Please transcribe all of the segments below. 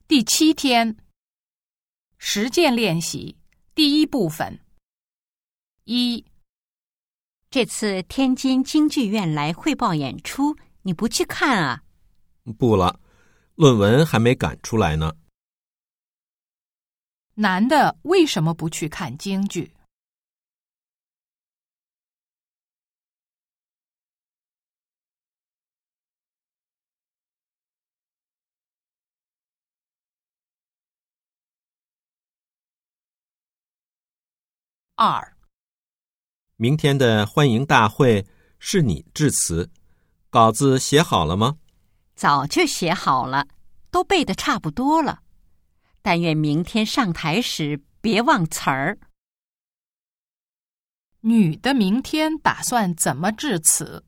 第7天，实践练习第1部分。1， 这次天津京剧院来汇报演出，你不去看啊？ 不了，论文还没赶出来呢。 男的为什么不去看京剧？2， 明天的欢迎大会是你致辞，稿子写好了吗？ 早就写好了，都背得差不多了。但愿明天上台时别忘词儿。 女的明天打算怎么致辞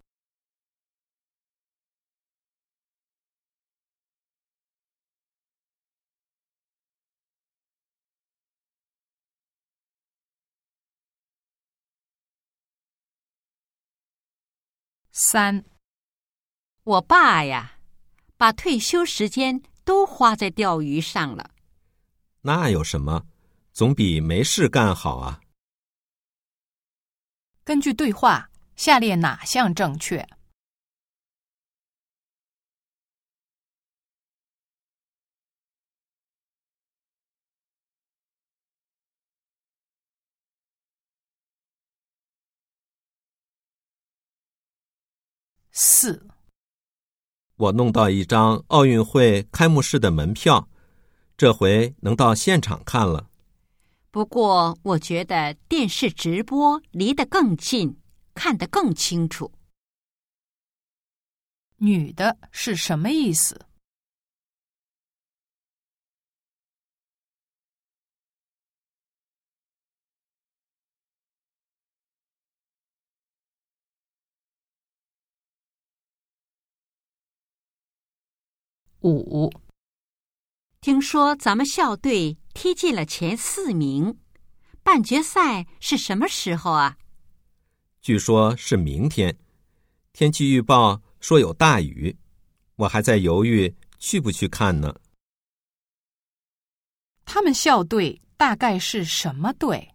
？3， 我爸呀，把退休时间都花在钓鱼上了。 那有什么，总比没事干好啊。 根据对话，下列哪项正确？4， 我弄到一张奥运会开幕式的门票，这回能到现场看了。 不过我觉得电视直播离得更近，看得更清楚。 女的是什么意思？5， 听说咱们校队踢进了前4名，半决赛是什么时候啊？ 据说是明天，天气预报说有大雨，我还在犹豫去不去看呢。 他们校队大概是什么队？